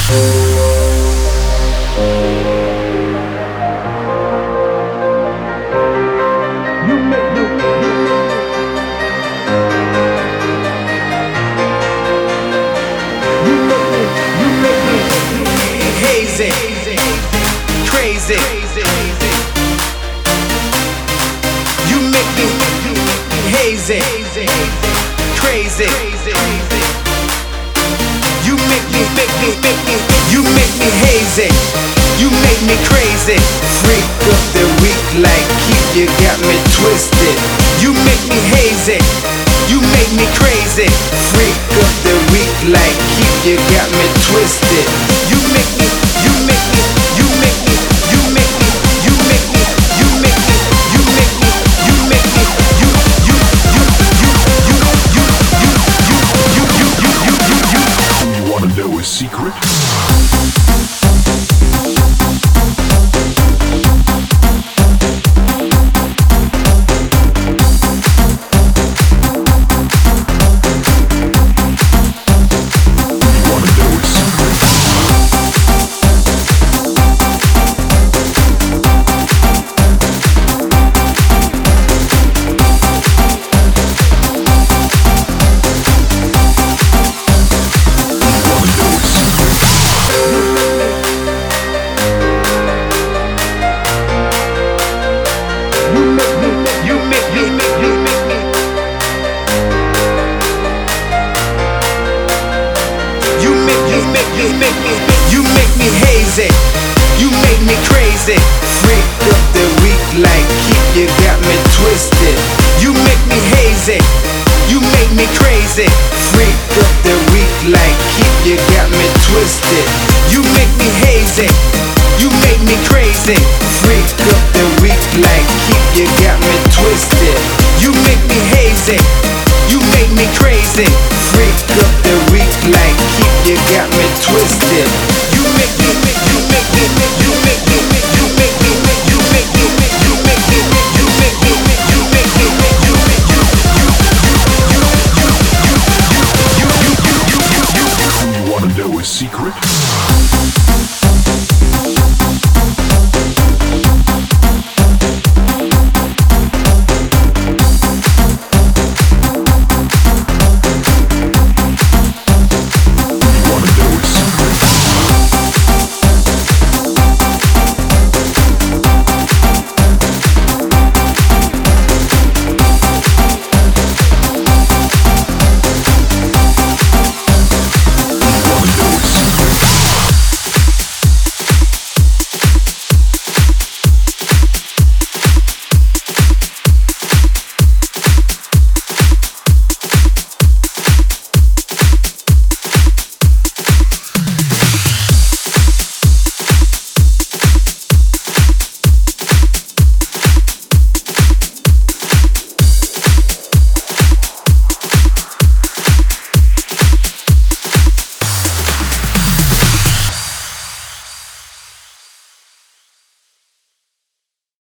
Hazy, crazy. You make me hazy, crazy. You make me, you make me hazy. You make me crazy. Freak of the week, like keep you got me twisted. You make me hazy. You make me crazy. Freak of the week, like keep you got me twisted. You make me, you make me, you make me, you make me, you make me, you make me, you make me, you make me, you You wanna know a secret? You make me hazy. You make me crazy. Freak of the week, like keep you got me twisted. You make me hazy. You make me crazy. Freak of the week, like keep you got me twisted. You make me hazy. You make me crazy. Freak of the week, like keep you got me twisted. You make me hazy. You make me crazy. Freak of the week, like keep you got me twisted. You make me, you make me, you make me, you make me, you make me, you make me, you make me, you make me, you make You wanna know a secret?